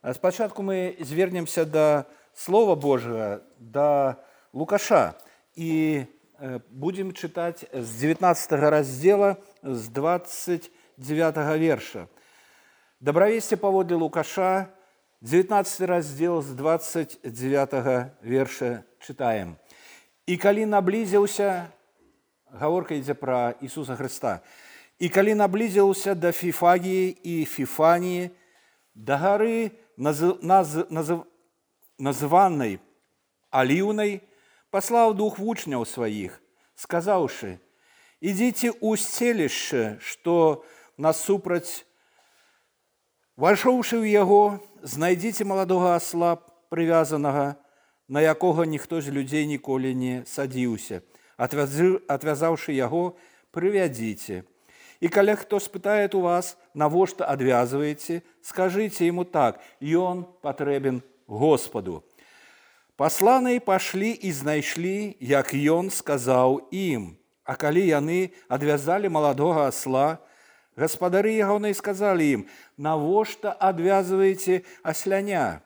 Спачатку мы звернемся да Слова Божьего, да Лукаша, и будем читать с 19 раздела, с 29 верша. Добровесте паводле Лукаша, 19 раздел, с 29 верша читаем. «И калі наблизился», гаворка ідзе пра Ісуса Христа, «и калі наблизился до Фифагии и Фифании, до горы, называнной Оливной, послал двух вучняў своих, сказаўшы: идите у селішча, что насупраць, вайшоўшы ў яго, знайдзіце маладога асла прывязанага, на якога ніхто з людзей ніколі не садзіўся. Отвязаўшы яго, прывядзіце. И калі хто спытает у вас, навошта адвязываете, скажите ему так: ён патрэбен Господу. Посланные пошли и знайшлі, як ён сказаў ім. А калі яны адвязалі маладога асла, гаспадары ягоныя сказалі ім: навошта адвязваеце асляня?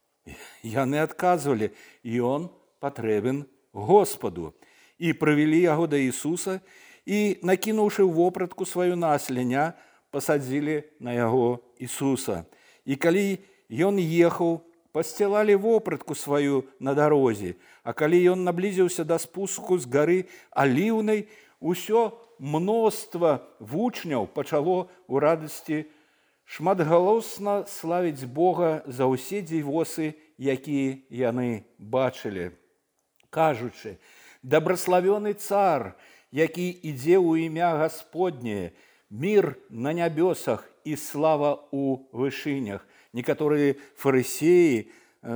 Яны адказвалі: ён патрэбен Господу. И прывялі яго да Ісуса, и, накінуўшы вопратку сваю на асляня, пасадзілі на яго Ісуса. И калі ён ехаў, пасцілалі вопратку сваю на дарозе, а калі ён наблізіўся да спуску з гары Аліўнай, усё мноства вучняў пачало у радасці шматгалосна славіць Бога за ўсе дзівосы, якія яны бачылі, кажучы: «Добраславёны цар, які ідзе ў імя Гасподняе, мир на нябёсах і слава ў вышынях». Некаторыя фарысеі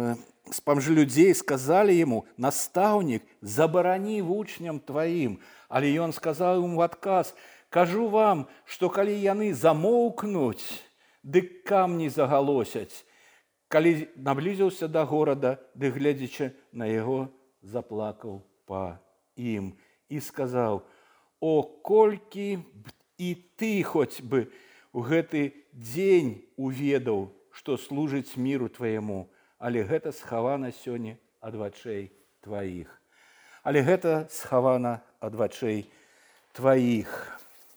з паміж людзей сказалі яму: «Настаўнік, забарані вучням тваім». Але ён сказаў ім у адказ: «Кажу вам, што калі яны замоўкнуць, дык камні загалосяць». Калі наблізіўся да горада, ды гледзячы на яго, заплакаў па ім і сказаў: «О, колькі б і ты хоць бы у гэты дзень уведаў, што служыць міру тваяму, але гэта схавана сёння ад вачэй тваіх». Але гэта схавана ад вачэй тваіх.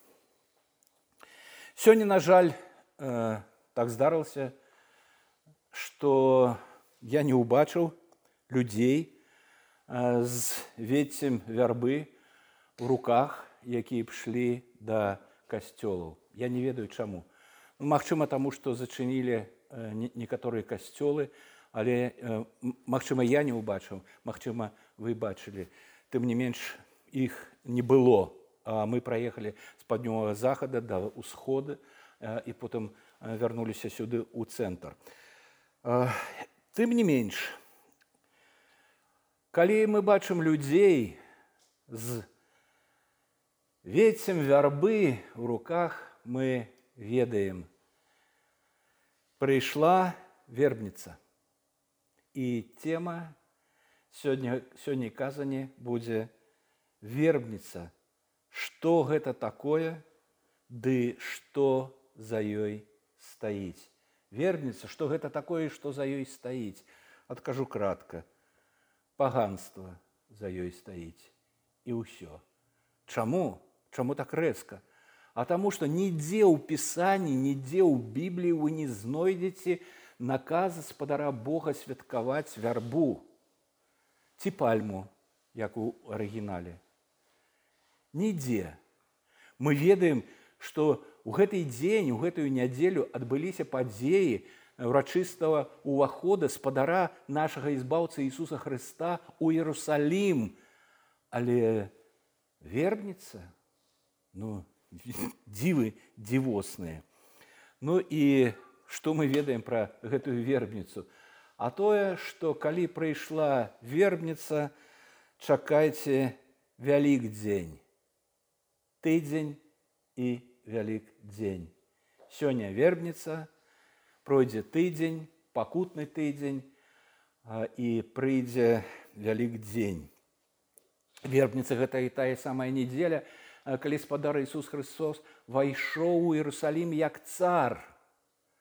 Сёння, на жаль, так здарылася, што я не ўбачыў людзей з веццем вярбы ў руках, якія ішлі да касцёлаў. Я не ведаю чаму. Магчыма, таму, што зачынілі некаторыя касцёлы, але, магчыма, я не ўбачыў, магчыма, вы бачылі. Тым не менш, іх не было. Мы праехалі з паўднёвага захада да ўсхода і потым вярнуліся сюды ў цэнтр. Тым не менш, калі мы бачым людзей з веццем вярбы ў руках, мы ведаем: прыйшла вербніца. І тема сёння казані будзе вербніца. Што гэта такое, ды што за ёй стаіць? Вербніца, што гэта такое, што за ёй стаіць? Адкажу кратка: паганства за ёй стаіць. І ўсё. Чаму? Чаму так рэзка? А таму, што нідзе ў Пісанні, нідзе ў Бібліі вы не знойдзеце наказа спадара Бога святкаваць вярбу ці пальму, як у арыгінале. Нідзе. Мы ведаем, што ў гэты дзень, у гэтую нядзелю адбыліся падзеі ўрачыстага ўвахода спадара нашага ізбаўцы Ісуса Хрыста ў Іерусалім. Але вербніца, дзівы дзівосныя. І што мы ведаем пра гэтую вербніцу? А тое, што калі прыйшла вербніца, чакайце Вялікдзень. Тыдзень і Вялікдзень. Сёння вербніца, пройдзе тыдзень, пакутны тыдзень, і прыйдзе Вялікдзень. Вербніца – гэта і тая самая нядзеля, калі спадар Ісус Христос вайшоў у Іерусалім як цар.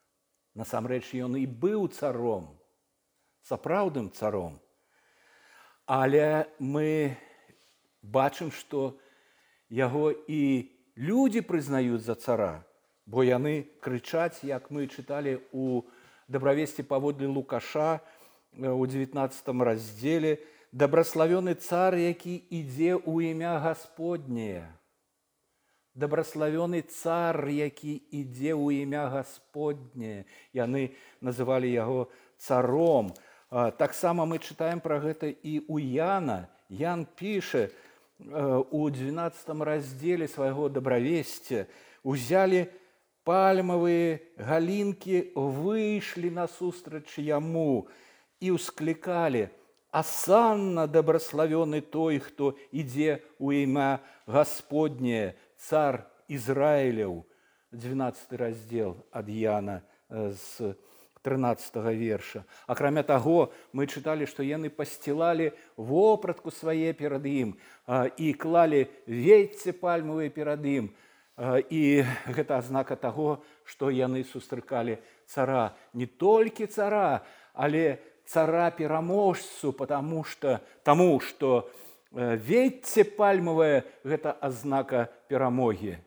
Насамрэч, ён і быў царом, сапраўдным царом. Але мы бачым, што яго і людзі прызнаюць за цара, бо яны крычаць, як мы чыталі у «Добравесці паводле Лукаша» у 19 раздзеле: «Дабраславёны цар, які ідзе ў імя Гасподняе». Дабраславёны цар, які ідзе ў імя Гасподняе. Яны называлі яго царом. Таксама мы чытаем пра гэта і ў Яна. Ян піша у 12 раздзеле свайго «Добравесця»: «Узялі пальмавыя галінкі, выйшлі насустрач яму і ўсклікалі: Асанна дабраславёны той, хто ідзе ў імя Гасподняе, цар Ізраіляў». 12 раздзел ад Яна з 13 верша. Акрамя таго, мы чыталі, што яны пасцілалі вопратку свае перад ім і клалі вецце пальмавыя перад ім. І гэта азнака таго, што яны сустракалі цара. Не толькі цара, але цара-пераможцу, таму што вецце пальмавае – гэта азнака перамогі.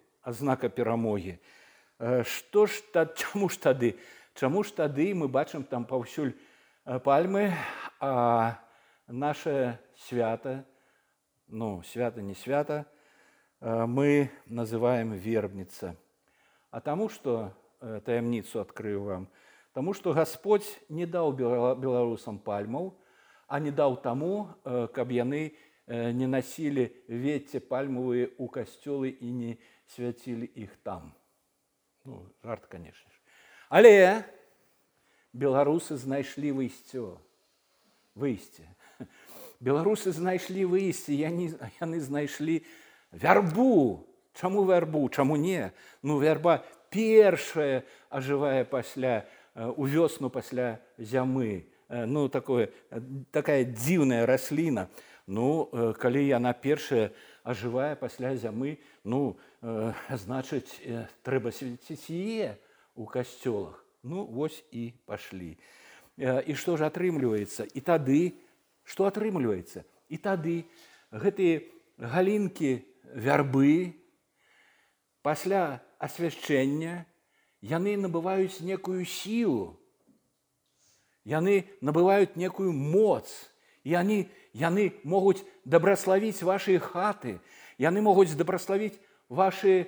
Чаму ж тады мы бачым там паўсюль пальмы, а наше свята, свята не свята, мы называем вербніца? А таму што, таямніцу адкрыю вам, таму што Гасподзь не даў беларусам пальмаў, а не даў таму, каб яны не насілі вецце пальмавыя ў касцёлы і не свяцілі іх там. Жарт, канешне ж. Але беларусы знайшлі выйсце. Беларусы знайшлі выйсце, яны знайшлі вярбу. Чаму вярбу? Чаму не? Вярба першая ажывае у вёсну пасля зямы. Такая дзіўная расліна. Калі яна першая ажывае пасля зямы, значыць, трэба свяціць яе у касцёлах. Вось і пашлі. І што ж атрымліваецца? І тады, што атрымліваецца? І тады гэтыя галінкі вярбы пасля асвяшчэння яны набываюць некую сілу, яны набываюць некую моц, яны могуць дабраславіць вашыя хаты, яны могуць дабраславіць вашыя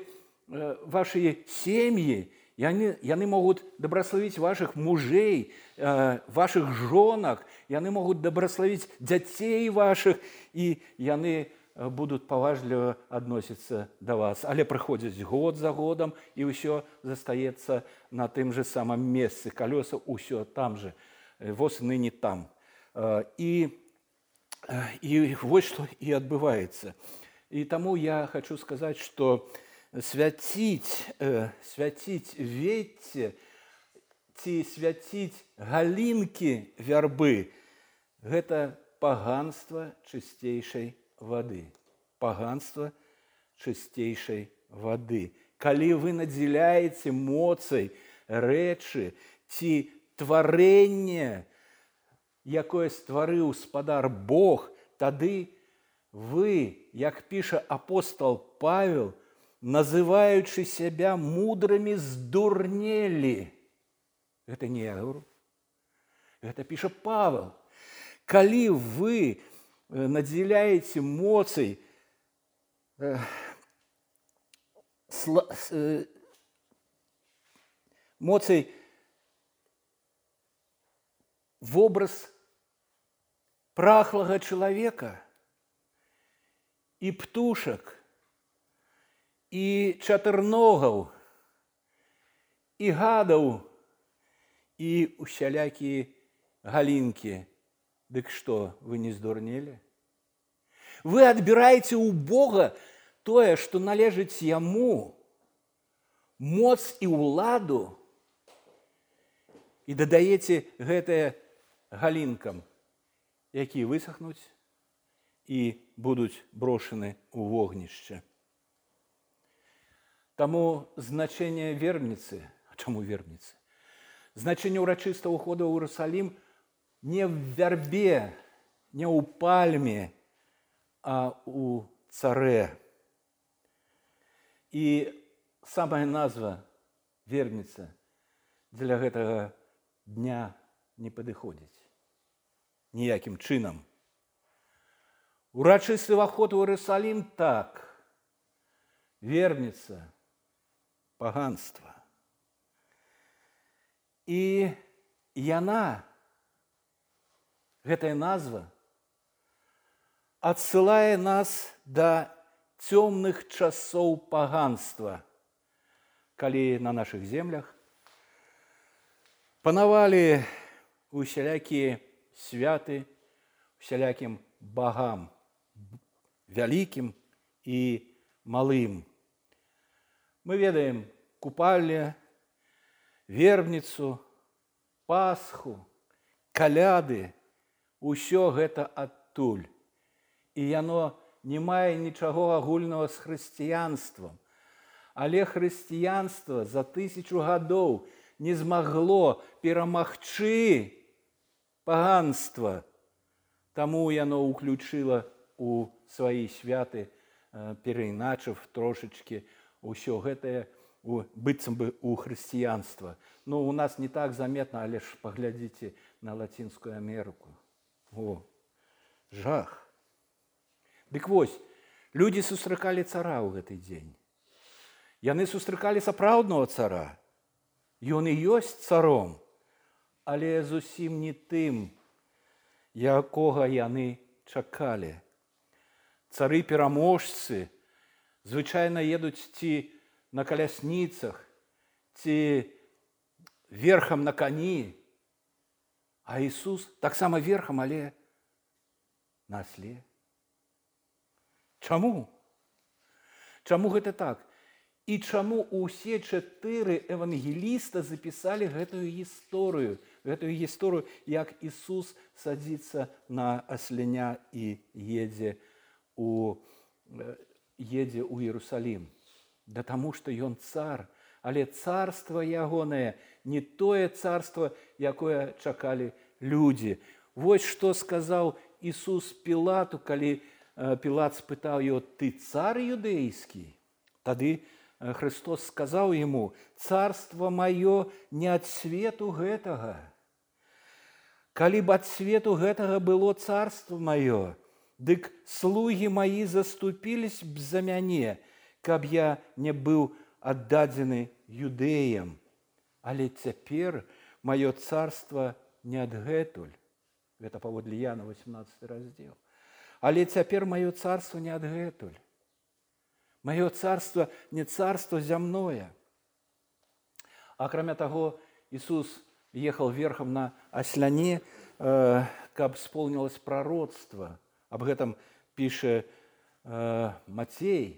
сем'і, яны могуць дабраславіць вашых мужэй, вашых жонак, яны могуць дабраславіць дзяцей вашых, і яны будуць паважліва адносіцца да вас. Але прыходзяць год за годам, і ўсё застаецца на тым же самым месцы. Калёса ўсё там же, воз ныне там. І вось што і адбываецца. І таму я хочу сказаць, што свяціць вецце ці свяціць галінкі вярбы – гэта паганства чысцейшай вады. Паганства чысцейшай вады. Калі вы надзеляеце моцай рэчы ці тварэнне, якое стварыў спадар Бог, тады вы, як піша апостол Павел, называючы сябе мудрымі, здурнелі. Гэта не я говорю, гэта піша Павел. Калі вы надзеляеце моцай вобраз прахлага чалавека і птушак, і чатырногаў, і гадаў, і усялякія галінкі. Дык што, вы не здурнелі? Вы адбіраеце ў Бога тое, што належыць Яму, моц і ўладу, і дадаеце гэтае галінкам, якія высахнуць і будуць брошаны ў вогнішча. Таму значэнне вербніцы, а чаму вербніцы? Значэнне ўрачыстага ўходу ў Іерусалім не в вярбе, не ў пальме, а ў царэ. І самая назва верніца для гэтага дня не падыходзіць ніякім чынам. Урачысты ўваход у Іерусалім так, верніца паганства. І яна, гэтая назва, адсылае нас да цёмных часоў паганства, калі на нашых землях панавалі усялякія святы усялякім багам, вялікім і малым. Мы ведаем купальне, вербніцу, Пасху, каляды, усё гэта адтуль. І яно не мае нічаго агульнага з хрысціянствам. Але хрысціянства за 1000 гадоў не змагло перамагчы паганства. Таму яно ўключыла у свае святы, перайначыв трошачкі ўсё гэтае быццам бы у хрысціянства. Ну, у нас не так заметна, але ж паглядзіце на Лацінскую Амерыку. О, жах. Дык вось, людзі сустракалі цара ў гэты дзень. Яны сустракалі сапраўднага цара. Ён і ёсць царом, але зусім не тым, якога яны чакалі. Цары-пераможцы звычайна едуць ці на калясніцах, ці верхам на кані, а Ісус таксама верхам, але на асле. Чаму? Чаму гэта так? І чаму ўсе 4 евангеліста запісалі гэтую гісторыю, як Ісус садзіцца на асленя і едзе ў Іерусалім? Да таму, што ён цар, але царства ягонае не тое царства, якое чакалі людзі. Вось што сказаў Ісус Пілату, калі Пілат спытаў яго: «Ты цар юдэйскі?» Тады Христос сказаў яму: «Царство маё не ад свету гэтага. Калі б ад свету гэтага было царство маё, дык слугі маі заступілись б за мяне, каб я не быў аддадзены юдэям. Але цяпер маё царство не адгэтуль». Гэта паводле Яна 18 раздзел. Але цяпер маё царство не адгэтуль. Маё царство не царство зямное. Акрамя таго, Ісус ехаў верхам на асляне, каб сполнілось пророцтва. Аб гэтым піша Мацей.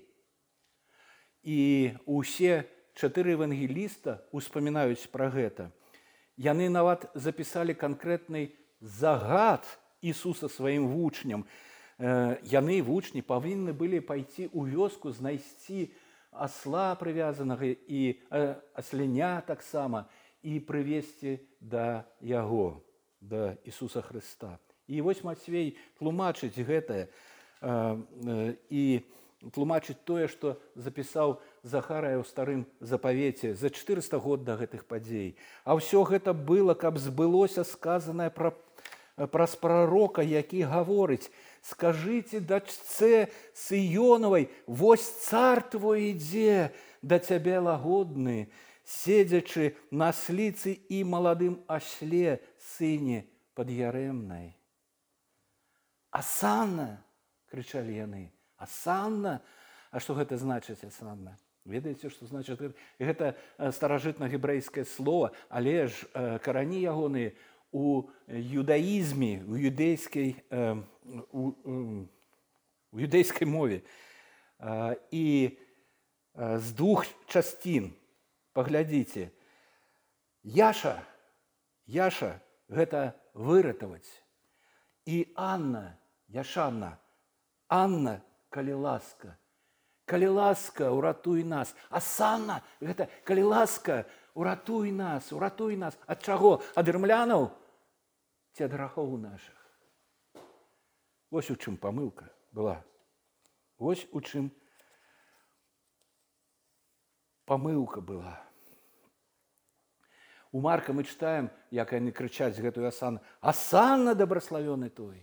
І ўсе 4 евангеліста успамінаюць пра гэта. Яны нават запісалі канкрэтны загад Ісуса сваім вучням. Яны, вучні, павінны былі пайти ў вёску, знайсці асла прывязанага і асленя таксама, і прывесці да яго, да Ісуса Хрыста. І вось Мацвей тлумачыць гэтае і тлумачыць тое, што запісаў Захарыя ў старым запавеце за 400 год да гэтых падзей. А ўсё гэта было, каб збылося сказанае праз прарока, які гаворыць: «Скажыце дачцэ Сыёнавай, вось цар твой ідзе да цябе лагодны, седзячы на сліцы і маладым асле, сыне пад'ярэмнай». «Асанна!» – крычалі яны. «Асанна?» А што гэта значыць, асанна? Ведаеце, што значыць? Гэта старажытна-гебрэйскае слово, але ж карані ягоныя у юдаізме, у юдэйскай мове. І з 2 частін, паглядзіце, Яша гэта выратаваць. І Анна, Яшанна, Анна, калі ласка, уратуй нас. Асанна, гэта калі ласка, уратуй нас, уратуй нас. Ад чаго? Ад рымлянаў ці ад грахоў нашых? Вось у чым памылка была. Вось у чым памылка была. У Марка мы читаем, як яны крычаць гэтую асану: «Асанна дабраславёны той!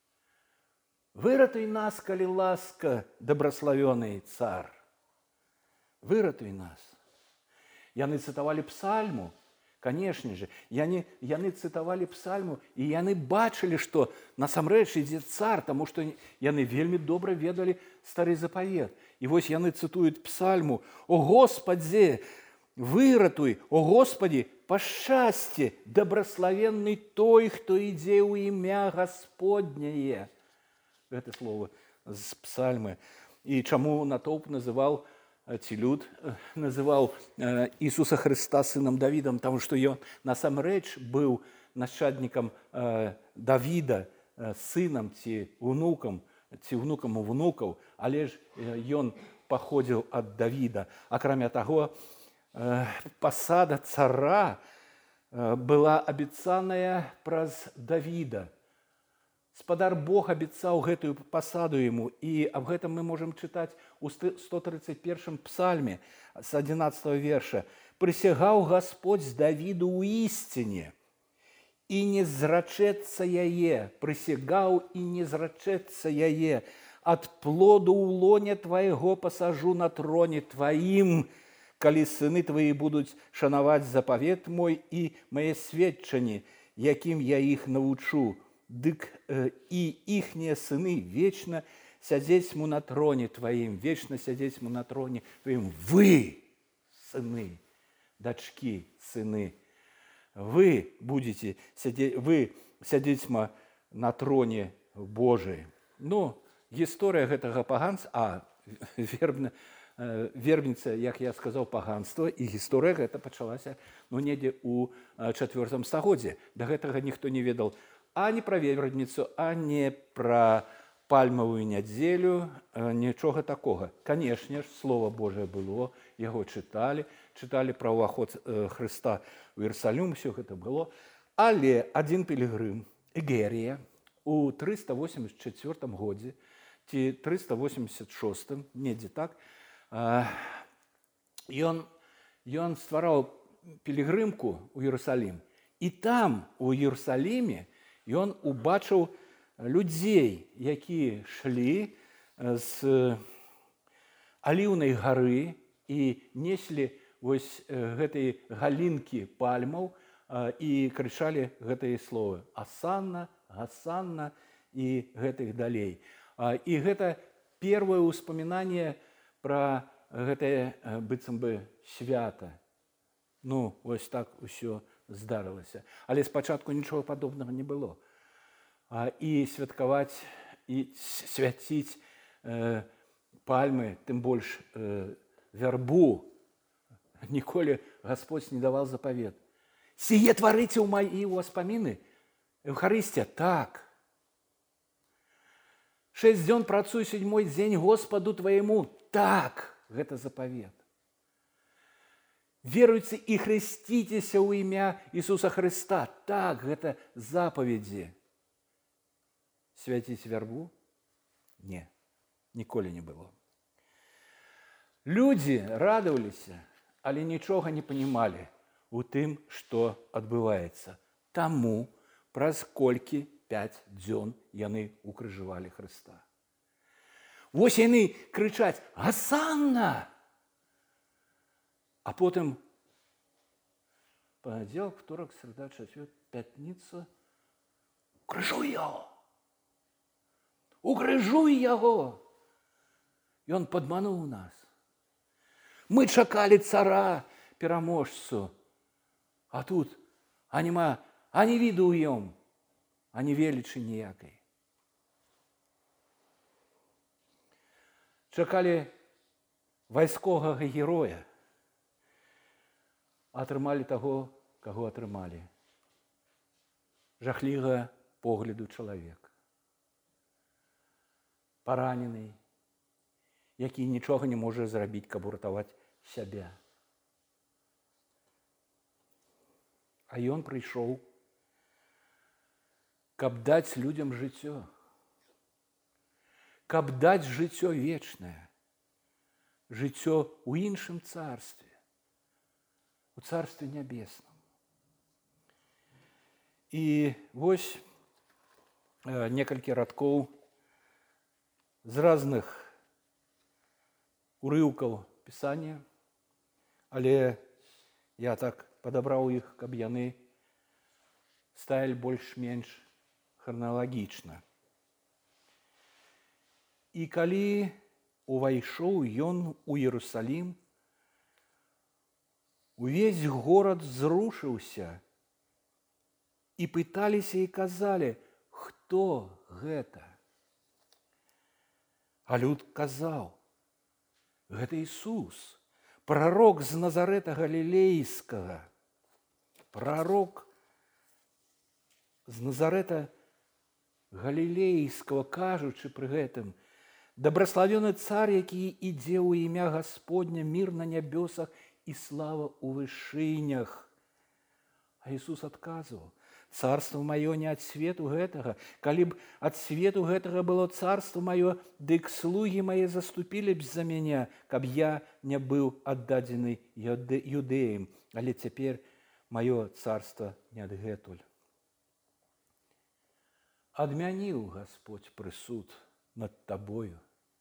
Выратуй нас, калі ласка, дабраславёны цар! Выратуй нас!» Яны цытавалі псальму, канешне же, яны цытавалі псальму, і яны бачылі, што насамрэч ідзе цар, таму што яны вельмі добра ведалі стары запавет. І вось яны цытуюць псальму: «О Господзе, выратуй, о Господі, пашчасце, дабраславенны той, хто ідзе ў імя Гасподняе». Гэта слово з псальмы. І чаму натоўп называў, ці люд называў Ісуса Хрыста сынам Давідам? Таму што ён насамрэч быў нашчаднікам Давіда, сынам ці внукам унукаў, але ж ён паходзіў ад Давіда. Акрамя таго, пасада цара была абяцаная праз Давіда. Спадар Бог абяцаў гэтую пасаду яму, і аб гэтым мы можам чытаць у 131 псальме з 11 верша. «Прысягаў Гасподь з Давіду ў ісціне, і не зрачэцца яе, прысягаў і не зрачэцца яе, ад плоду ў лоне твайго пасажу на троне тваім, калі сыны твои будуць шанаваць запавет мой і мае сведчанні, якім я іх навучу. Дык і іхнія сыны вечна сядзець му на троне тваім, вечна сядзець му на троне тваім. Вы, сыны, дачкі, сыны, вы будете сядзець, вы сядзець ма на троне Божий». Ну, гісторыя гэтага паганства, вербніца, як я сказаў, паганства, і гісторыя гэта пачалася недзе ў 4 стагоддзі. Да гэтага ніхто не ведаў ані пра вербніцу, ані пра пальмавую нядзелю, нічога такога. Канешне ж, Слова Божае было, яго чыталі пра ўваход Хрыста ў Іерусалім, усё гэта было. Але адзін пілігрым, Эгерія, у 384 годзе, ці 386, недзе так, ён ствараў пілігрымку ў Іерусалім. І там, у Іерусаліме, ён убачыў людзей, якія шлі з Аліўнай гары і неслі вось гэтай галінкі пальмаў і крычалі гэтыя словы: «Асанна, Гасанна» і гэтых далей. І гэта першае ўспамінанне пра гэтае быццам бы свята. Ну, вось так усё здарылася. Але спачатку нічога падобнага не было. І святкаваць, і свяціць пальмы, тым больш вярбу, ніколі Гасподь не даваў запавет. «Сие тварыце ў маі ўспаміны». Эўхарыстія, так. 6 дзён працуй, 7-й дзень Господу твоему, так. Гэта запавет. Веруйце і хрысціцеся ў імя Ісуса Хрыста. Так, гэта запаведзі. Свяціць вярбу? Не, ніколі не было. Людзі радаваліся, але нічога не панімалі у тым, што адбываецца. Таму праз колькі 5 дзён яны укрыжавалі Хрыста. Вось яны крычаць: «Гасанна!» А потым панядзелак, уторак, середа, чацвер, пятніца. Укрыжуй яго! Укрыжуй яго! Ён падмануў нас. Мы чакалі цара, пераможцу. А тут няма ані віду ў ём, ані велічы ніякай. Чакалі вайсковага героя. Атрымалі таго, каго атрымалі. Жахлівага погляду чалавек. Паранены, які нічога не можа зрабіць, каб уратаваць сябе. А ён прыйшоў, каб даць людям жыццё, каб даць жыццё вечнае, жыццё ў іншым царстве, у царстве нябесным. І вось некалькі радкоў з разных урыўкаў Пісання, але я так падабраў іх, каб яны сталі больш-менш храналагічна. І калі увайшоў ён у Іерусалім, увесь горад зрушыўся, і пыталіся і казалі, хто гэта? А люд казаў, гэта Ісус, прарок з Назарэта Галілейскага, прарок з Назарэта Галілейскага, кажучы пры гэтым, дабраславёны цар, які ідзе ў імя Гасподня, мір на нябёсах і слава ў вышынях. А Ісус адказваў, царство маё не ад свету гэтага. Калі б ад свету гэтага было царство маё, дык слугі мае заступілі б за мяне, каб я не быў аддадзены юдэям. Але цяпер маё царство не адгэтуль. Адмяніў Гасподзь прысуд над табою,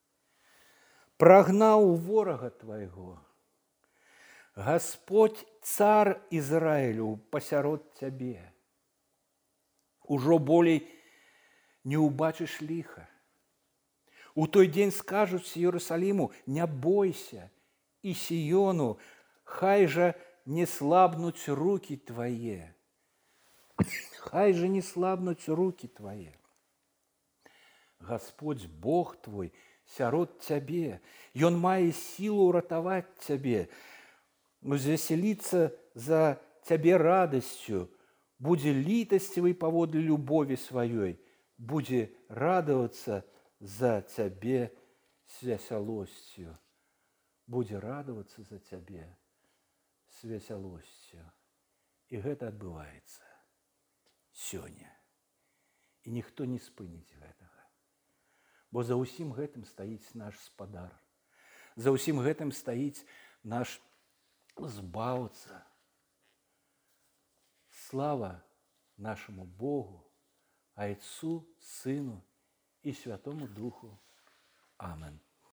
прагнаў ворага твайго. Гасподзь, цар Ізраілю, пасярод цябе. Ужо болей не ўбачыш ліха. У той дзень скажуць Іерусаліму, не бойся, і Сіёну, хай жа не слабнуць рукі твае. Хай жа не слабнуць рукі твае. Гасподзь, Бог твой, сярод цябе. Ён мае сілу ўратаваць цябе, узвесяліцца за цябе радасцю, будзе літасцівы паводле любові сваёй, будзе радавацца за цябе с весялосцю. Будзе радавацца за цябе с весялосцю. І гэта адбываецца сёння. І ніхто не спыніць гэтага. Бо за ўсім гэтым стаіць наш спадар. За ўсім гэтым стаіць наш збаўца. Слава нашему Богу, Отцу, Сыну и Святому Духу. Аминь.